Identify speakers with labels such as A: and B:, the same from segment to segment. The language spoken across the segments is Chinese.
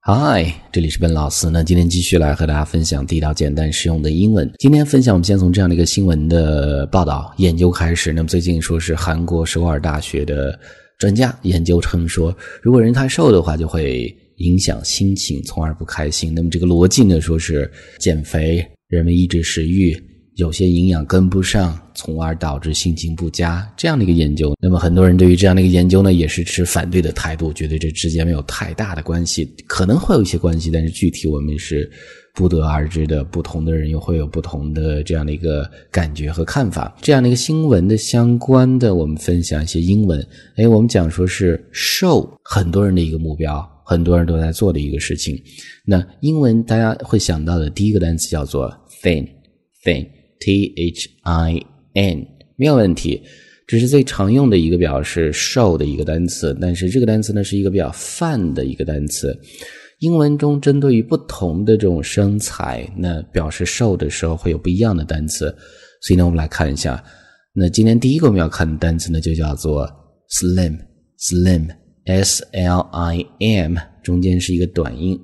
A: 嗨，这里是Ben老师。那今天继续来和大家分享地道简单实用的英文。今天分享我们先从这样的一个新闻的报道研究开始。那么最近说是韩国首尔大学的专家研究称说，如果人太瘦的话就会影响心情，从而不开心。那么这个逻辑呢，说是减肥，人们抑制食欲，有些营养跟不上，从而导致心情不佳，这样的一个研究。那么很多人对于这样的一个研究呢，也是持反对的态度，觉得这之间没有太大的关系，可能会有一些关系，但是具体我们是不得而知的，不同的人又会有不同的这样的一个感觉和看法。这样的一个新闻的相关的，我们分享一些英文。我们讲说是瘦，很多人的一个目标，很多人都在做的一个事情。那英文大家会想到的第一个单词叫做 thin T-H-I-N 没有问题，这是最常用的一个表示瘦的一个单词，但是这个单词呢是一个比较泛的一个单词。英文中针对于不同的这种身材，那表示瘦的时候会有不一样的单词，所以呢我们来看一下。那今天第一个我们要看的单词呢就叫做 slim S-L-I-M 中间是一个短音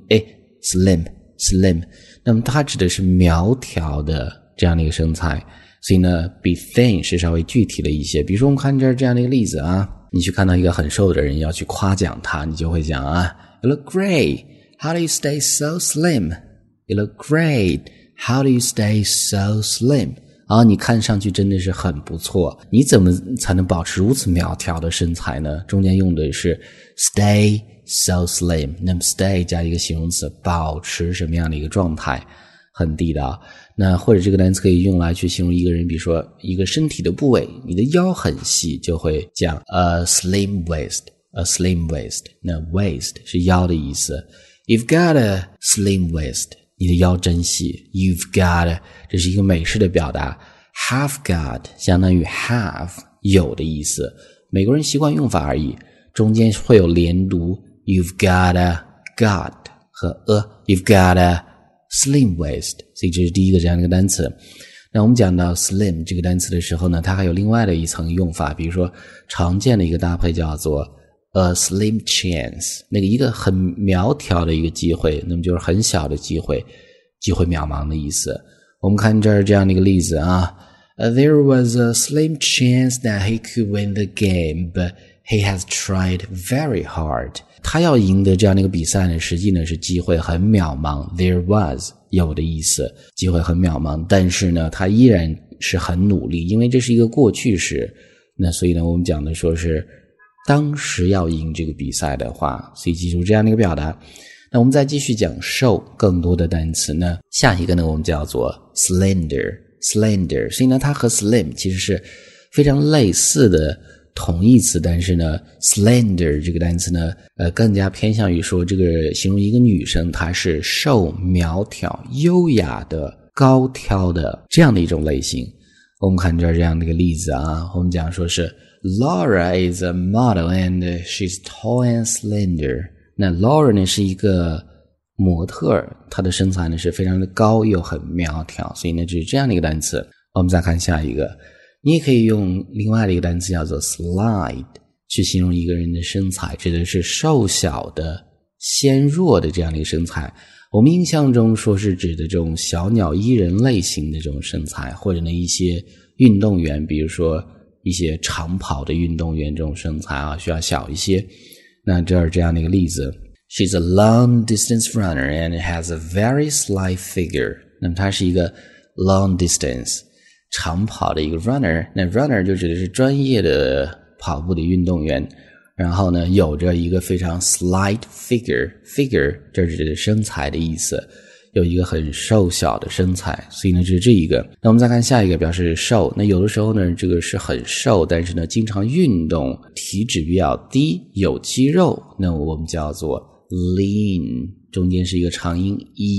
A: slim， 那么它指的是苗条的这样的一个身材，所以呢比 thin 是稍微具体的一些。比如说我们看这样的一个例子啊，你去看到一个很瘦的人要去夸奖他，你就会讲啊 You look great, how do you stay so slim? You look great, how do you stay so slim? 你看上去真的是很不错，你怎么才能保持如此苗条的身材呢？中间用的是 stay so slim， 那么 stay 加一个形容词，保持什么样的一个状态，很地道。那或者这个单词可以用来去形容一个人，比如说一个身体的部位，你的腰很细，就会讲 a slim waist。那 waist 是腰的意思， You've got a slim waist， 你的腰真细。 You've got， 这是一个美式的表达。 Have got 相当于 have 有的意思，美国人习惯用法而已，中间会有连读 You've got a got 和 You've got a slim waist， 所以这是第一个这样的一个单词。那我们讲到 slim 这个单词的时候呢，它还有另外的一层用法，比如说常见的一个搭配叫做 a slim chance， 那个一个很苗条的一个机会，那么就是很小的机会，机会渺茫的意思。我们看这儿这样的一个例子啊， There was a slim chance that he could win the game, but he has tried very hard。 他要赢得这样的一个比赛呢，实际呢是机会很渺茫， There was 有的意思，机会很渺茫，但是呢他依然是很努力，因为这是一个过去式，那所以呢我们讲的说是当时要赢这个比赛的话，所以记住这样的一个表达。那我们再继续讲瘦更多的单词呢，下一个呢我们叫做 slender， 所以呢它和 slim 其实是非常类似的同义词，但是呢 slender 这个单词呢更加偏向于说这个形容一个女生她是瘦苗条优雅的高挑的这样的一种类型。我们看这样的一个例子啊，我们讲说是 Laura is a model and she's tall and slender。 那 Laura 呢是一个模特，她的身材呢是非常的高又很苗条，所以呢这是这样的一个单词。我们再看下一个，你也可以用另外的一个单词叫做 slide 去形容一个人的身材，指的是瘦小的纤弱的这样的一个身材。我们印象中说是指的这种小鸟依人类型的这种身材，或者呢一些运动员，比如说一些长跑的运动员这种身材啊需要小一些。那这儿这样的一个例子， She's a long distance runner and has a very slight figure。 那么她是一个 long distance 长跑的一个 runner， 那 runner 就指的是专业的跑步的运动员，然后呢有着一个非常 slight figure， 这指的是身材的意思，有一个很瘦小的身材，所以呢这是这一个。那我们再看下一个，表示瘦，那有的时候呢这个是很瘦，但是呢经常运动，体脂比较低，有肌肉，那我们叫做 lean， 中间是一个长音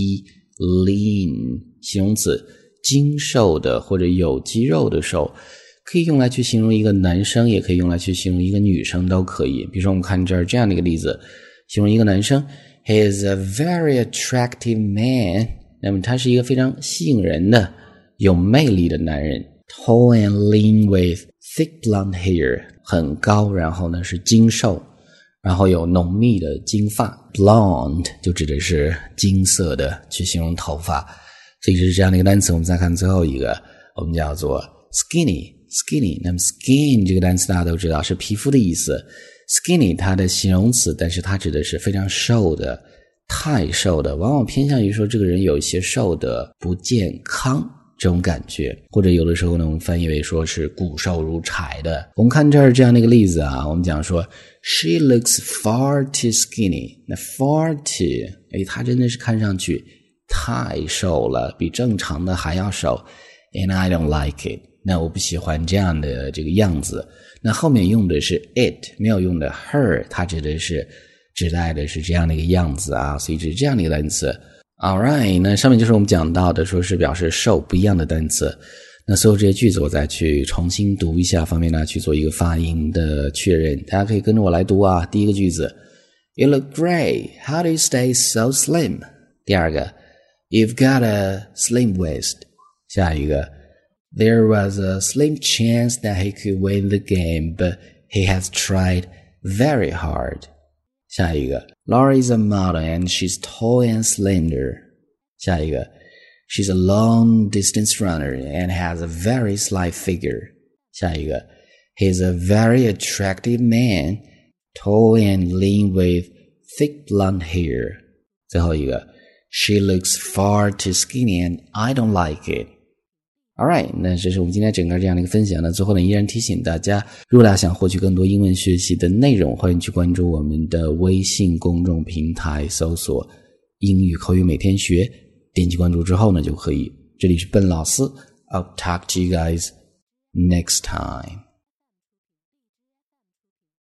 A: lean 形容词，精瘦的或者有肌肉的瘦，可以用来去形容一个男生，也可以用来去形容一个女生，都可以。比如说我们看这儿这样的一个例子，形容一个男生 He is a very attractive man， 那么他是一个非常吸引人的有魅力的男人。 Tall and lean with thick blonde hair， 很高，然后呢是精瘦， 然后有浓密的金发 blonde 就指的是金色的去形容头发，所以是这样的一个单词。我们再看最后一个，我们叫做 skinny。那么 skin 这个单词大家都知道是皮肤的意思， skinny 它的形容词，但是它指的是非常瘦的，太瘦的，往往偏向于说这个人有一些瘦的不健康这种感觉，或者有的时候呢我们翻译为说是骨瘦如柴的。我们看这儿这样的一个例子啊，我们讲说 She looks far too skinny。 那 far too 她真的是看上去太瘦了，比正常的还要瘦， and I don't like it。 那我不喜欢这样的这个样子。那后面用的是 it， 没有用的 her， 它指代的是这样的一个样子啊，所以是这样的一个单词。Alright， 那上面就是我们讲到的说是表示瘦不一样的单词。那所有这些句子我再去重新读一下，方便大家去做一个发音的确认。大家可以跟着我来读啊。第一个句子 You look great, how do you stay so slim？ 第二个 You've got a slim waist。 下一个There was a slim chance that he could win the game, but he has tried very hard. 下一个 Laura is a model and she's tall and slender. 下一个 She's a long-distance runner and has a very slight figure. 下一个 He's a very attractive man, tall and lean with thick blonde hair. 最后一个 She looks far too skinny and I don't like it.Alright， 那这是我们今天整个这样的一个分享呢。最后呢，依然提醒大家，如果大家想获取更多英文学习的内容，欢迎去关注我们的微信公众平台，搜索英语口语每天学，点击关注之后呢就可以。这里是笨老师 ，I'll talk to you guys next time.